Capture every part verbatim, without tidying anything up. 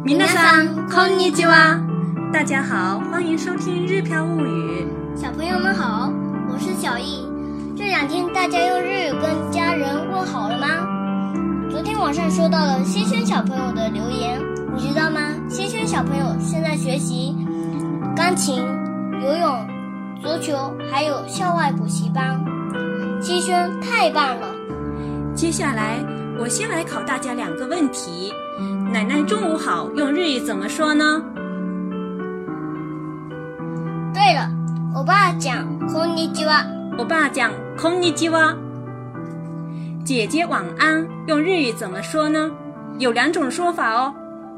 皆さんこんにちは。大家好，欢迎收听日漂物语。 小朋友们好，我是小易。这两天大家用日语跟家人问好了吗？昨天晚上收到了希轩小朋友的留言，你知道吗？希轩小朋友现在学习钢琴、游泳、足球，还有校外补习班。希轩太棒了！ 接下来我先来考大家两个问题。奶奶中午好用日语怎么说呢？ 对了，我爸讲こんにちは， 我爸讲こんにちは。姐姐晚安用日语怎么说呢？有两种说法哦。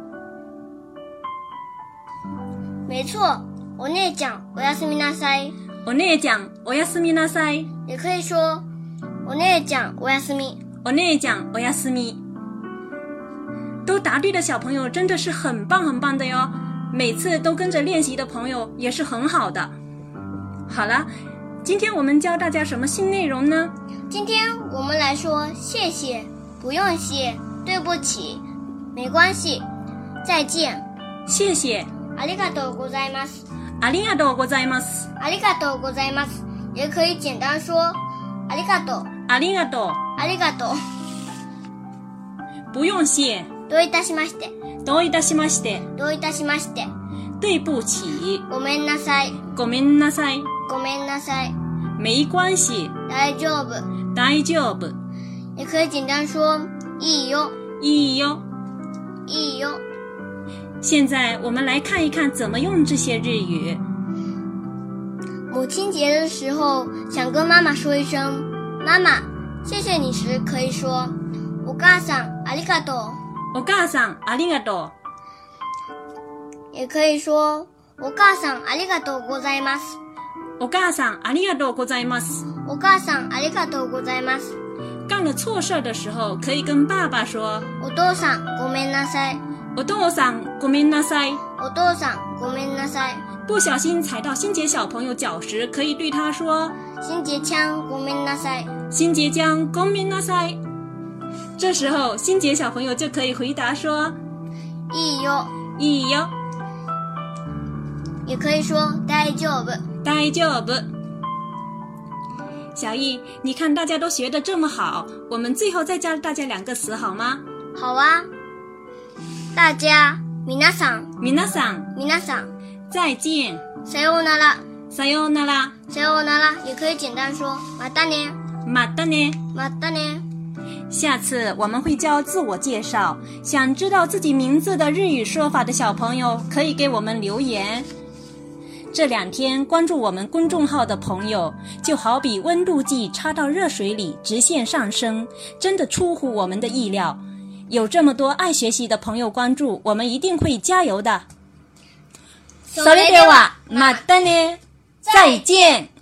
没错，お姉ちゃんおやすみなさい。 お姉ちゃんおやすみなさい。 也可以说お姉ちゃんおやすみ。 お姉ちゃんおやすみ。都答对的小朋友真的是很棒很棒的哟，每次都跟着练习的朋友也是很好的。好了，今天我们教大家什么新内容呢？ 今天我们来说谢谢、不用谢、对不起、没关系、再见。 谢谢。 ありがとうございます。 ありがとうございます。 ありがとうございます。也可以简单说ありがとう。 ありがとう。 ありがとう。 不用谢。 どういたしまして。 どういたしまして。 どういたしまして。 对不起。 ごめんなさい。 ごめんなさい。 ごめんなさい。 没关系。 大丈夫。 大丈夫。 也可以简单说いいよ。 いいよ。 いいよ。 现在我们来看一看怎么用这些日语。 母亲节的时候想跟妈妈说一声妈妈谢谢你时，可以说お母さんありがとう。 お母さんありがとう。 也可以说お母さんありがとうございます。 お母さんありがとうございます。 お母さんありがとうございます。 干了错事的时候可以跟爸爸说お父さんごめんなさい。 お父さんごめんなさい。 お父さんごめんなさい。 不小心踩到心杰小朋友脚时，可以对他说心杰ちゃんごめんなさい。 心杰ちゃんごめんなさい。这时候心杰小朋友就可以回答说いいよ。 いいよ。 也可以说大丈夫。 大丈夫。小易，你看大家都学得这么好，我们最后再教大家两个词好吗？ 好啊。大家皆さん皆さん皆さん再见。 さようなら。 さようなら。 さようなら也可以简单说またね。 またね。 またね。 下次我们会教自我介绍，想知道自己名字的日语说法的小朋友可以给我们留言。这两天关注我们公众号的朋友，就好比温度计插到热水里直线上升，真的出乎我们的意料。有这么多爱学习的朋友关注，我们一定会加油的。それではまたね。再见。